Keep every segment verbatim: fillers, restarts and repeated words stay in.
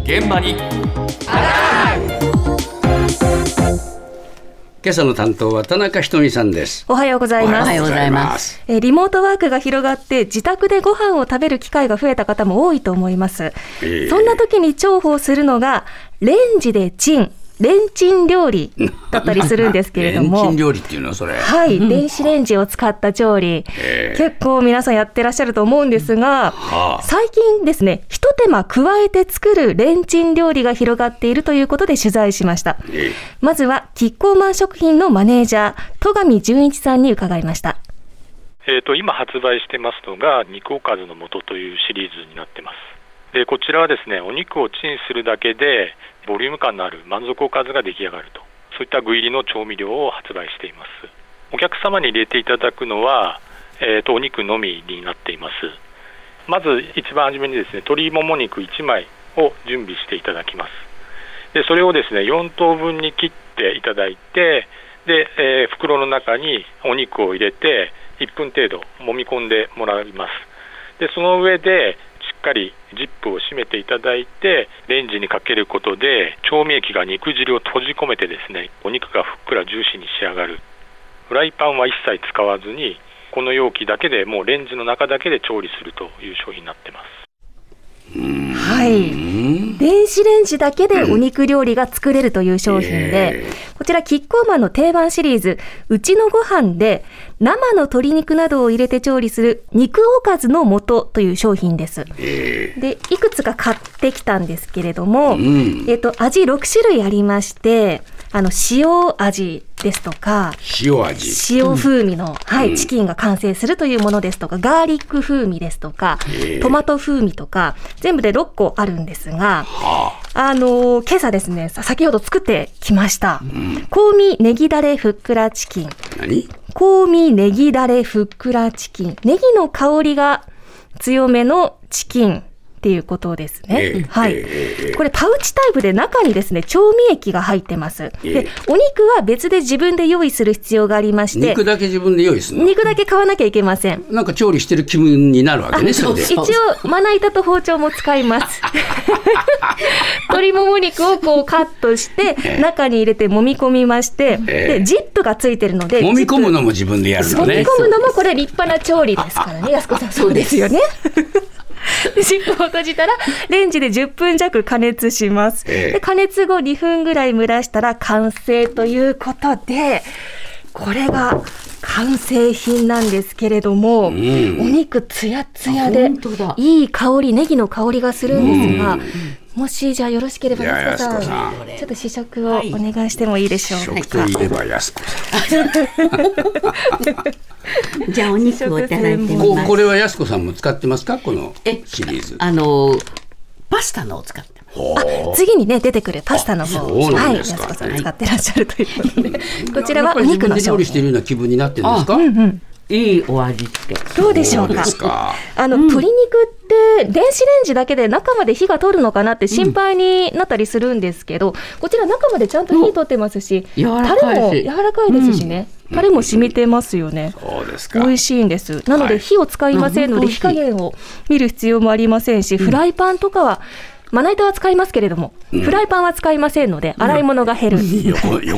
現場に今朝の担当は田中ひとみさんです。 おはようございます。 おはようございます。 えリモートワークが広がって自宅でご飯を食べる機会が増えた方も多いと思います、えー、そんな時に重宝するのがレンジでチンレンチン料理だったりするんですけれどもレンチン料理っていうのそれはい、うん、電子レンジを使った調理、えー、結構皆さんやってらっしゃると思うんですが、はあ、最近ですね一手間加えて作るレンチン料理が広がっているということで取材しました、えー、まずはキッコーマン食品のマネージャー戸上純一さんに伺いました。 えーと、今発売してますのが肉おかずの素というシリーズになってます。でこちらはですねお肉をチンするだけでボリューム感のある満足おかずが出来上がると、そういった具入りの調味料を発売しています。お客様に入れていただくのは、えーと、お肉のみになっています。まず一番初めにですね鶏もも肉いちまいを準備していただきます。でそれをですねよん等分に切っていただいてで、えー、袋の中にお肉を入れていっぷん程度揉み込んでもらいます。でその上でしっかりジップを閉めていただいてレンジにかけることで調味液が肉汁を閉じ込めてですねお肉がふっくらジューシーに仕上がる。フライパンは一切使わずにこの容器だけでもうレンジの中だけで調理するという商品になってます。 はい、電子レンジだけでお肉料理が作れるという商品で、うん、こちらキッコーマンの定番シリーズうちのご飯で生の鶏肉などを入れて調理する肉おかずの素という商品です、えー、でいくつか買ってきたんですけれども、うんえー、と味ろく種類ありましてあの塩味ですとか塩味塩風味の、うんはい、 うん、 チキンが完成するというものですとかガーリック風味ですとか、えー、トマト風味とか全部でろっこあるんですが、はああのー、今朝ですね先ほど作ってきました、うん、香味ネギダレふっくらチキン。 何？ 香味ネギダレふっくらチキン。ネギの香りが強めのチキンっていうことですね、えーはいえー、これパウチタイプで中にですね調味液が入ってます、えー、でお肉は別で自分で用意する必要がありまして肉だけ自分で用意するの？ 肉だけ買わなきゃいけません。 なんか調理してる気分になるわけね。それで一応まな板と包丁も使います鶏もも肉をこうカットして中に入れて揉み込みまして、えー、でジップがついてるので揉み込むのも自分でやるのね。 揉み込むのもこれ立派な調理ですからね。安子さんそうですよねジップを閉じたらレンジでじゅっぷん弱加熱します、えー、で加熱後にふんぐらい蒸らしたら完成ということでこれが完成品なんですけれども、うん、お肉つやつやでいい香りネギの香りがするんですが、うん、もしじゃあよろしければ安子さんちょっと試食をお願いしてもいいでしょうか。 試食といえば安子さんじゃあお肉をいただいてみます。 これは安子さんも使ってますかこのシリーズ？ あのパスタのを使ってます。 あ次にね出てくるパスタの方を、はい、安子さん使ってらっしゃるということで、はい、こちらはお肉の商品。自分で料理しているような気分になってるんですか？うんうん、 いいお味ってどうでしょうか。 うかあの、うん、鶏肉って電子レンジだけで中まで火が通るのかなって心配になったりするんですけど、うん、こちら中までちゃんと火通ってますし、うん、タレも柔らかいですしね、うん、タレも染みてますよね、 うん、そうですか。 美味しいんです。なので火を使いませんので、はい、火加減を見る必要もありませんし、うん、フライパンとかはまな板は使いますけれども、うん、フライパンは使いませんので洗い物が減る、うん、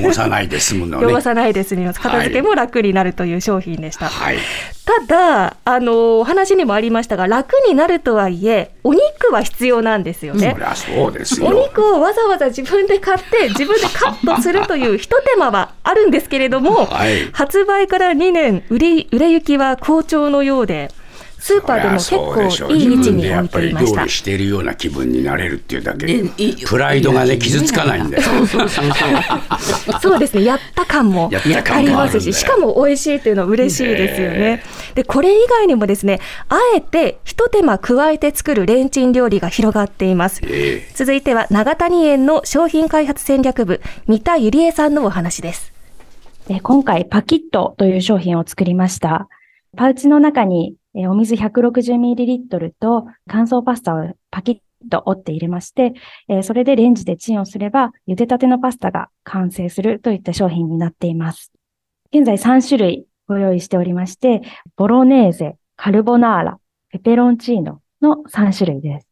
汚さないで済むのね。 汚さないで済みます。片付けも楽になるという商品でした、 はい、 ただあのお話にもありましたが楽になるとはいえお肉は必要なんですよね。 そりゃそうですよ。 お肉をわざわざ自分で買って自分でカットするという一手間はあるんですけれども、はい、発売からにねん売れ、売れ行きは好調のようでスーパーでも結構いい位置に置いていました。自分でやっぱり料理しているような気分になれるっていうだけでプライドがね傷つかないんだよ。そうそうそうそうそうですね。やった感もありますし、しかも美味しいっていうのは嬉しいですよね。でこれ以外にもですねあえて一手間加えて作るレンチン料理が広がっています、えー、続いては長谷園の商品開発戦略部三田ゆりえさんのお話です。 で今回パキットという商品を作りました。パウチの中にお水 ひゃくろくじゅうミリリットル と乾燥パスタをパキッと折って入れまして、それでレンジでチンをすれば茹でたてのパスタが完成するといった商品になっています。現在さん種類ご用意しておりまして、ボロネーゼ、カルボナーラ、ペペロンチーノのさん種類です。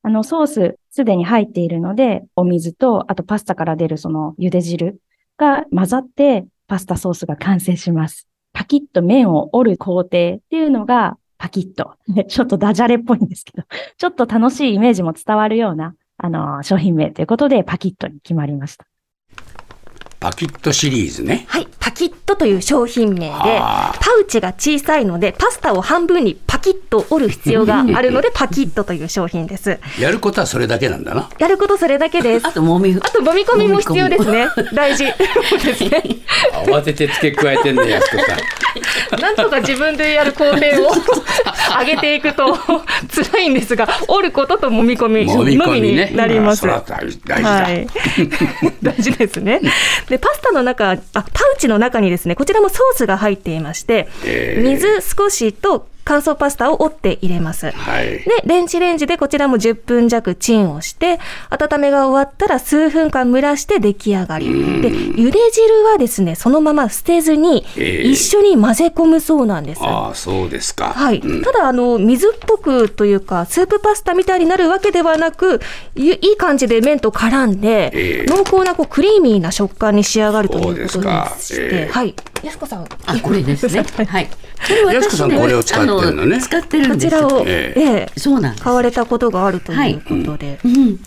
あの、ソースすでに入っているので、お水と、あとパスタから出るその茹で汁が混ざって、パスタソースが完成します。パキッと麺を折る工程っていうのが、パキッと。ちょっとダジャレっぽいんですけど、ちょっと楽しいイメージも伝わるような、あの、商品名ということで、パキッとに決まりました。 パキッとシリーズね。 はい、パキッとという商品名で、パウチが小さいのでパスタを半分にパキッと折る必要があるのでパキッとという商品です。 やることはそれだけなんだな。 やることそれだけです。 あともみあと揉み込みも必要ですね。大事ですね。 慌てて付け加えてんねやすこさん。 なんとか自分でやる工程を上げていくと辛いんですが、折ることと揉み込みのみになります。 それは大事だ。 はい、大事ですね。でパスタの中、あ、パウチの中にですね、こちらもソースが入っていまして、えー、水少しと乾燥パスタを折って入れます、はい、で電子レンジでこちらもじゅっぷん弱チンをして、温めが終わったら数分間蒸らして出来上がりで、茹で汁はですねそのまま捨てずに一緒に混ぜ込むそうなんです、 えー、ああそうですか、 はい、うん、ただあの水っぽくというかスープパスタみたいになるわけではなく、いい感じで麺と絡んで、えー、濃厚なこうクリーミーな食感に仕上がるということでして、えー、はい、やすこさん、 あ、これですねはい、 やすこさんこれを使ってるのね。 使ってるんですよ。 こちらを、えええ、そうなんです。買われたことがあるということで、はい、うん、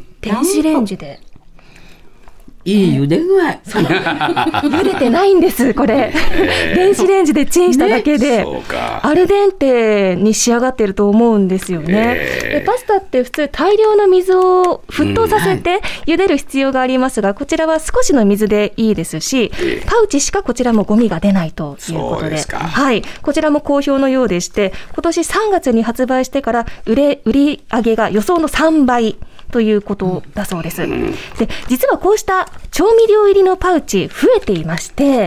電子レンジでいい茹で具合。 茹でてないんですこれ、えー、電子レンジでチンしただけで、ね、アルデンテに仕上がってると思うんですよね、えー、でパスタって普通大量の水を沸騰させて茹でる必要がありますが、こちらは少しの水でいいですし、えー、パウチしかこちらもゴミが出ないということ で, ではい、こちらも好評のようでして、今年さんがつに発売してから売れ売り上げが予想のさんばいということだそうです。で、実はこうした調味料入りのパウチ増えていまして、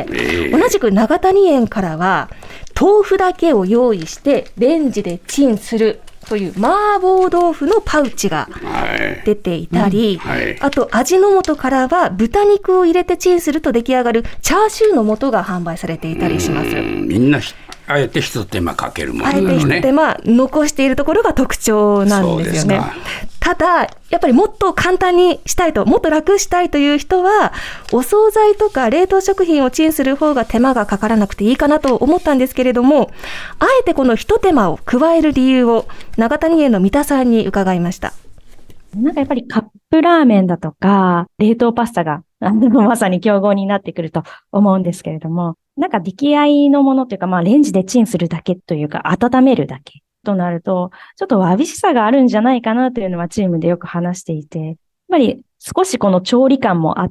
同じく長谷園からは豆腐だけを用意してレンジでチンするという麻婆豆腐のパウチが出ていたり、はいうんはい、あと味の素からは豚肉を入れてチンすると出来上がるチャーシューの素が販売されていたりします。 みんなあえて一手間かけるものだね。 あえて一手間残しているところが特徴なんですよね。ただやっぱりもっと簡単にしたいと、もっと楽したいという人はお惣菜とか冷凍食品をチンする方が手間がかからなくていいかなと思ったんですけれども、あえてこの一手間を加える理由を長谷園の三田さんに伺いました。 なんかやっぱりカップラーメンだとか冷凍パスタがまさに競合になってくると思うんですけれども、なんか出来合いのものというか、まあレンジでチンするだけというか温めるだけとなると、ちょっとわびしさがあるんじゃないかなというのはチームでよく話していて、やっぱり少しこの調理感もあって、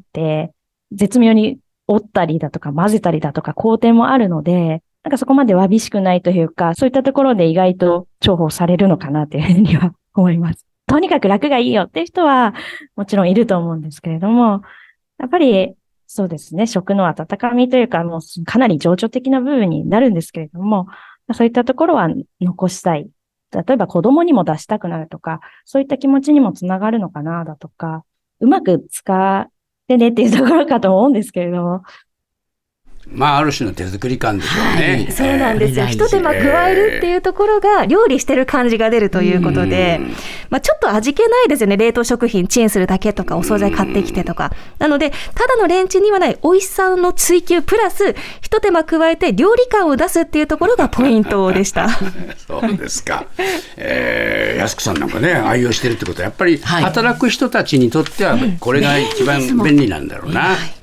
絶妙に折ったりだとか混ぜたりだとか工程もあるので、なんかそこまでわびしくないというか、そういったところで意外と重宝されるのかなというふうには思います。とにかく楽がいいよっていう人はもちろんいると思うんですけれども、やっぱりそうですね、食の温かみというか、もうかなり情緒的な部分になるんですけれども、そういったところは残したい。例えば子供にも出したくなるとか、そういった気持ちにもつながるのかなだとか、うまく使ってねっていうところかと思うんですけれども。 まあ、ある種の手作り感でしょうね。 はい、そうなんですよ。一手間加えるっていうところが料理してる感じが出るということで、まあ、ちょっと味気ないですよね。冷凍食品チンするだけとかお惣菜買ってきてとか。なのでただのレンチンにはない美味しさの追求プラス一手間加えて料理感を出すっていうところがポイントでした。 そうですか。えー、安子さんなんかね愛用してるってことはやっぱり働く人たちにとってはこれが一番便利なんだろうな。